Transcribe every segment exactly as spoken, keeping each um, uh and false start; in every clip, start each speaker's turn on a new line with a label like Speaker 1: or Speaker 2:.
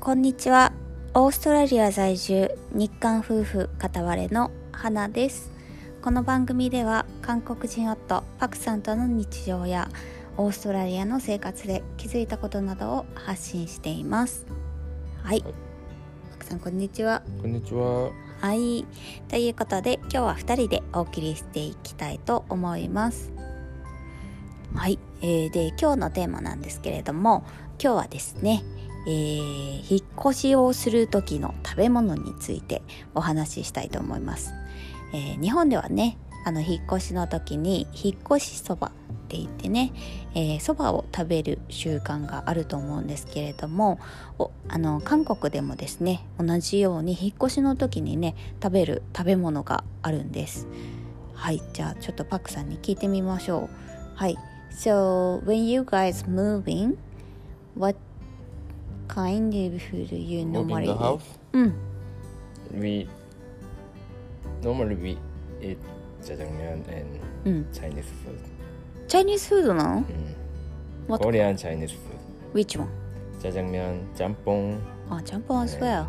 Speaker 1: こんにちは。オーストラリア在住日韓夫婦片割れの花です。この番組では韓国人夫パクさんとの日常やオーストラリアの生活で気づいたことなどを発信しています。はい、はい、パクさんこんにちは。
Speaker 2: こんにちは。
Speaker 1: はい、ということで今日はふたりでお送りしていきたいと思います。はい、えー、で今日のテーマなんですけれども、今日はですね、えー、引っ越しをする時の食べ物についてお話ししたいと思います。えー、日本ではね、あの引っ越しの時に引っ越しそばって言ってね、えー、そばを食べる習慣があると思うんですけれども、おあの韓国でもですね、同じように引っ越しの時にね食べる食べ物があるんです。はい、じゃあちょっとパクさんに聞いてみましょう。はい、So when you guys moving, what kind of food do you normally
Speaker 2: eat? House?
Speaker 1: Mm.
Speaker 2: We normally we eat jjajangmyeon and
Speaker 1: mm.
Speaker 2: Chinese food.
Speaker 1: Chinese food なの？
Speaker 2: Mm.
Speaker 1: What?
Speaker 2: Korean Chinese food.
Speaker 1: Which one?
Speaker 2: Jjajangmyeon, 짬뽕.
Speaker 1: Ah, 짬뽕 as well.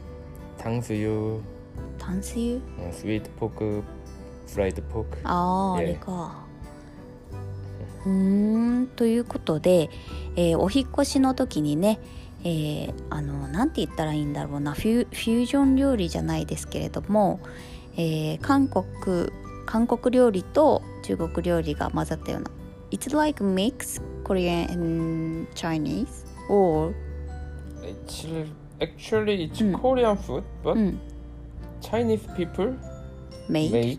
Speaker 2: 탕수육.
Speaker 1: 탕수육?
Speaker 2: Uh, sweet pork, fried pork.
Speaker 1: ああ、
Speaker 2: Yeah.
Speaker 1: あれか。うーん、ということで、えー、お引っ越しの時にね、えー、あのなんて言ったらいいんだろうな、フュ、フュージョン料理じゃないですけれども、えー、韓国韓国料理と中国料理が混ざったような It's like mix Korean and Chinese or
Speaker 2: Actually, actually it's
Speaker 1: mm.
Speaker 2: Korean food, but
Speaker 1: mm.
Speaker 2: Chinese people
Speaker 1: made,
Speaker 2: made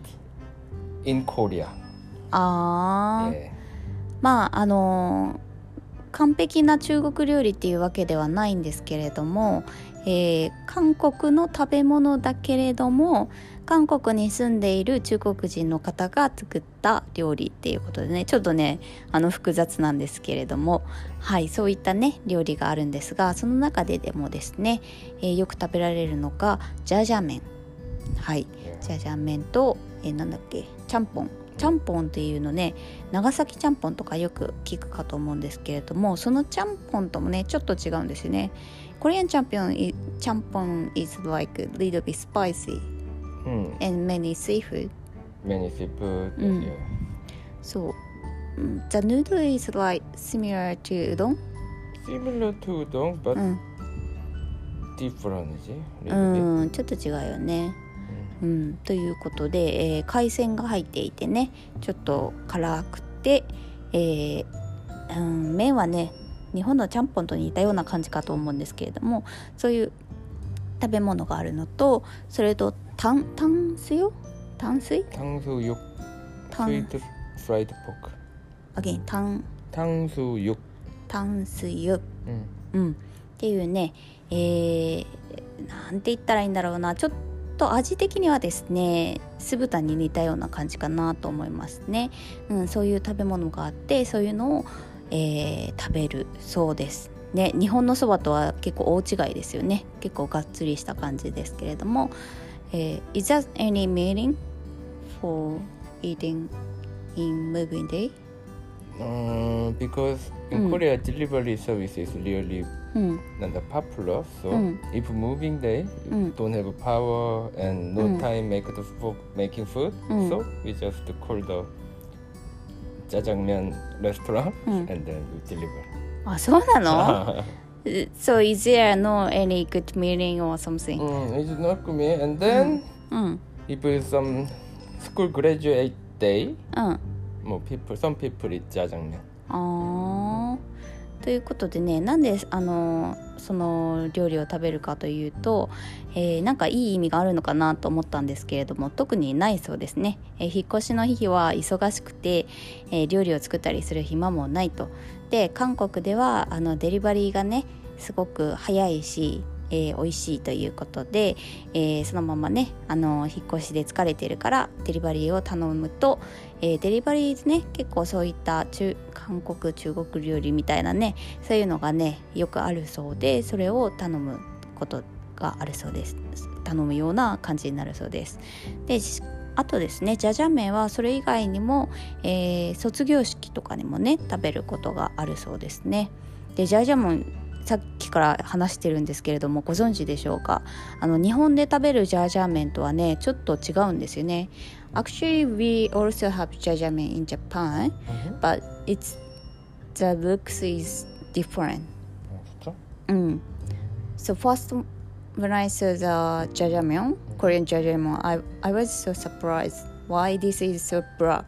Speaker 2: in Korea.
Speaker 1: あー、
Speaker 2: yeah.
Speaker 1: まああのー完璧な中国料理っていうわけではないんですけれども、えー、韓国の食べ物だけれども韓国に住んでいる中国人の方が作った料理っていうことでね、ちょっとねあの複雑なんですけれども、はい、そういったね料理があるんですが、その中ででもですね、えー、よく食べられるのがジャジャ麺、はい、ジャジャ麺と、えー、なんだっけチャンポンチャンポンっていうのね、長崎ちゃんぽんとかよく聞くかと思うんですけれども、そのちゃんぽんともねちょっと違うんですよね。コリアンチャンピオンちゃんぽん is like a little bit spicy、
Speaker 2: mm.
Speaker 1: and many seafood
Speaker 2: many seafood、
Speaker 1: うん、
Speaker 2: yeah.
Speaker 1: So the noodle is like similar to udon?
Speaker 2: Similar to udon, but、うん、different
Speaker 1: うん、ちょっと違うよね。うん、ということで、えー、海鮮が入っていてねちょっと辛くて、えーうん、麺はね日本のちゃんぽんと似たような感じかと思うんですけれども、そういう食べ物があるのと、それと炭炭水よ炭水
Speaker 2: 탕수육 sweet fried pork
Speaker 1: again炭
Speaker 2: 탕수육
Speaker 1: 炭水よ、
Speaker 2: うん、
Speaker 1: うん、っていうね、えー、なんて言ったらいいんだろうな、ちょっとと味的にはですね酢豚に似たような感じかなと思いますね、うん、そういう食べ物があって、そういうのを、えー、食べるそうですね。日本のそばとは結構大違いですよね。結構がっつりした感じですけれども、えー、Is there any meaning for eating in moving day?、
Speaker 2: Uh, because in、うん、Korea delivery service is really、うん、not popular, so、うん、if moving day you、うん、don't have power and no、うん、time make the food, making food、うん、so we just call the jjajangmyeon restaurant、うん、and then we deliver.
Speaker 1: あ、そうなのSo is there no any good meaning or something?
Speaker 2: Mm, it's not good meaning. And then、うん、if it's some school graduate day、うんもう people, some people eat jjajangmyeon。
Speaker 1: あー、ということでね、なんであのその料理を食べるかというと、えー、なんかいい意味があるのかなと思ったんですけれども、特にないそうですね。えー、引っ越しの日は忙しくて、えー、料理を作ったりする暇もないと。で、韓国ではあのデリバリーがねすごく早いし、えー、美味しいということで、えー、そのままねあの引っ越しで疲れてるからデリバリーを頼むと、えー、デリバリーね結構そういった中韓国中国料理みたいなねそういうのがねよくあるそうで、それを頼むことがあるそうです。頼むような感じになるそうです。であとですね、ジャジャ麺はそれ以外にも、えー、卒業式とかにもね食べることがあるそうですね。でジャジャ麺さっきから話してるんですけれども、ご存知でしょうか。あの日本で食べるジャージャー麺とはねちょっと違うんですよね。 Actually we also have ジャージャー麺 in Japan、mm-hmm. but it's the looks is different. うん。So first when I saw the ジャージャー麺 Korean ジャージャー麺 I, I was so surprised why this is so black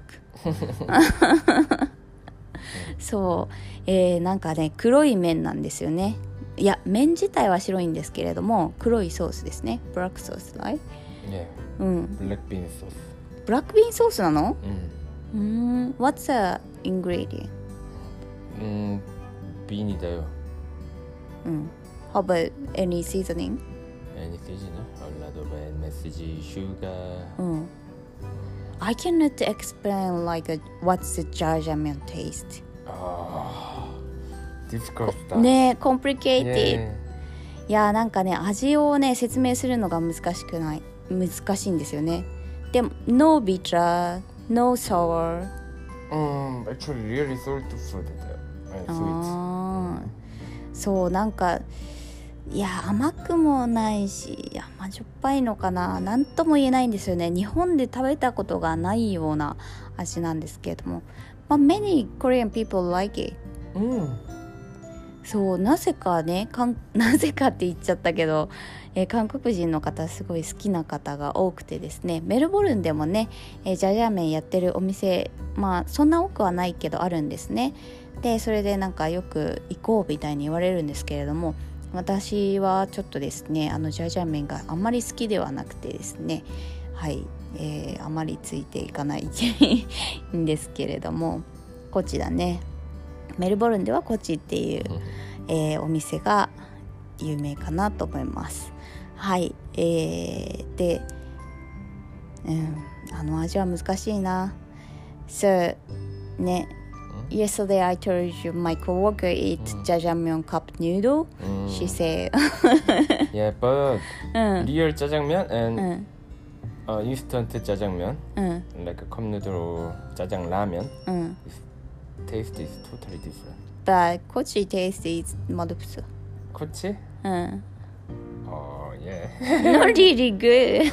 Speaker 1: そう、えー、なんかね黒い麺なんですよね。いや麺自体は白いんですけれども黒いソースですね。ブラックソース、right?
Speaker 2: Yeah.
Speaker 1: うん。
Speaker 2: ブラックビーンソース。
Speaker 1: ブラックビーンソースなの？
Speaker 2: うん。
Speaker 1: うん。What's the ingredient?
Speaker 2: うん、ビーニだよ。
Speaker 1: うん。How about any seasoning?
Speaker 2: Any seasoning? A lot of M S G, sugar.
Speaker 1: うん。I cannot explain like a, what's the jajangmyeon taste.
Speaker 2: Ah, difficult.
Speaker 1: ねえ、complicated.
Speaker 2: Yeah.
Speaker 1: いやなんかね味をね説明するのが難しくない難しいんですよね。でも no bitter, no sour.
Speaker 2: Um, actually, really salty food. And sweet.
Speaker 1: そうなんかいや甘くもないし甘じょっぱいのかな、なんとも言えないんですよね。日本で食べたことがないような味なんですけれども、まあ、many Korean people like it、
Speaker 2: うん、
Speaker 1: そうなぜかねかんなぜかって言っちゃったけど、えー、韓国人の方すごい好きな方が多くてですね、メルボルンでもね、えー、ジャージャー麺やってるお店まあそんな多くはないけどあるんですね。でそれでなんかよく行こうみたいに言われるんですけれども、私はちょっとですねあのジャージャー麺があんまり好きではなくてですね、はい、えー、あまりついていかないんですけれども、こっちだねメルボルンではこっちっていう、えー、お店が有名かなと思います。はい、えー、で、うん、あの味は難しいな。そうね。Yesterday I told you my coworker eat
Speaker 2: mm.
Speaker 1: jajangmyeon cup noodle.
Speaker 2: Mm.
Speaker 1: She said,
Speaker 2: "Yeah, but
Speaker 1: mm.
Speaker 2: real jjajangmyeon and
Speaker 1: mm.
Speaker 2: uh, instant jjajangmyeon,
Speaker 1: mm.
Speaker 2: like a cup noodle or jjajang ramen,
Speaker 1: mm.
Speaker 2: taste is totally different."
Speaker 1: But kochi taste is 맛없어.
Speaker 2: Kochi?
Speaker 1: Mm.
Speaker 2: Oh yeah.
Speaker 1: Not really good.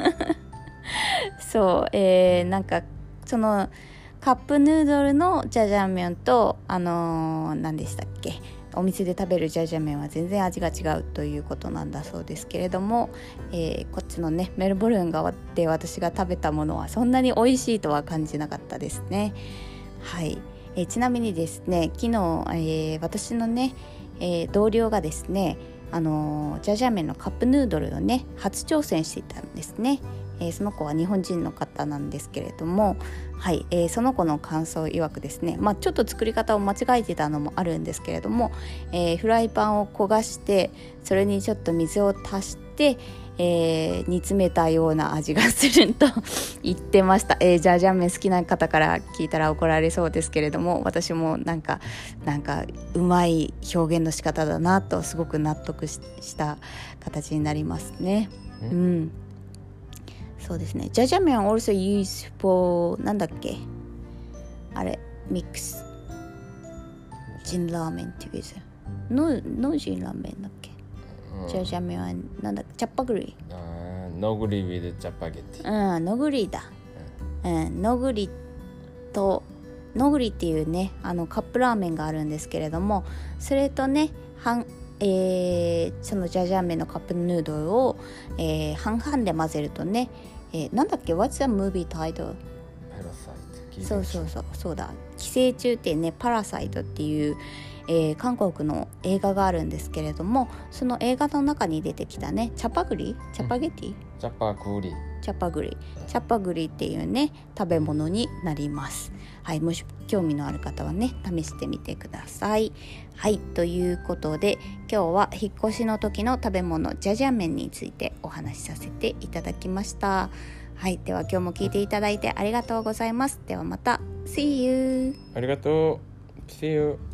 Speaker 1: そう、えー、なんかそのカップヌードルのジャジャン麺とあのー、何でしたっけお店で食べるジャジャン麺は全然味が違うということなんだそうですけれども、えー、こっちのねメルボルン側で私が食べたものはそんなに美味しいとは感じなかったですね。はい、えー、ちなみにですね昨日、えー、私のね、えー、同僚がですねあのー、ジャジャン麺のカップヌードルをね初挑戦していたんですね。えー、その子は日本人の方なんですけれども、はい、えー、その子の感想曰くですね、まあ、ちょっと作り方を間違えてたのもあるんですけれども、えー、フライパンを焦がしてそれにちょっと水を足して、えー、煮詰めたような味がすると言ってました。えー、ジャージャー麺好きな方から聞いたら怒られそうですけれども、私もなんかなんかうまい表現の仕方だなとすごく納得 し, した形になりますね。うん、うんそうですね。ジャジャン麺 also used for なんだっけあれミックスジンラーメン together ののジンラーメンだっけ、うん、ジャジャン麺はなんだっけチャッパグリ
Speaker 2: あノグリ with チャパゲティ
Speaker 1: うんノグリだ、うんうん、ノグリとノグリっていうねあのカップラーメンがあるんですけれども、それとね半えー、そのジャージャー麺のカップヌードルを、えー、半々で混ぜるとね、えー、なんだっけ What's the movie title? そうそうそうそうだ寄生虫ってねパラサイトっていう、えー、韓国の映画があるんですけれども、その映画の中に出てきたねチャパグリチャパゲティ、うん、
Speaker 2: チャパグリ
Speaker 1: チャパグリチャパグリっていうね食べ物になります。はい、もし興味のある方はね試してみてください。はい、ということで今日は引っ越しの時の食べ物ジャジャン麺についてお話しさせていただきました。はい、では今日も聞いていただいてありがとうございます。ではまた See you。
Speaker 2: ありがとう See you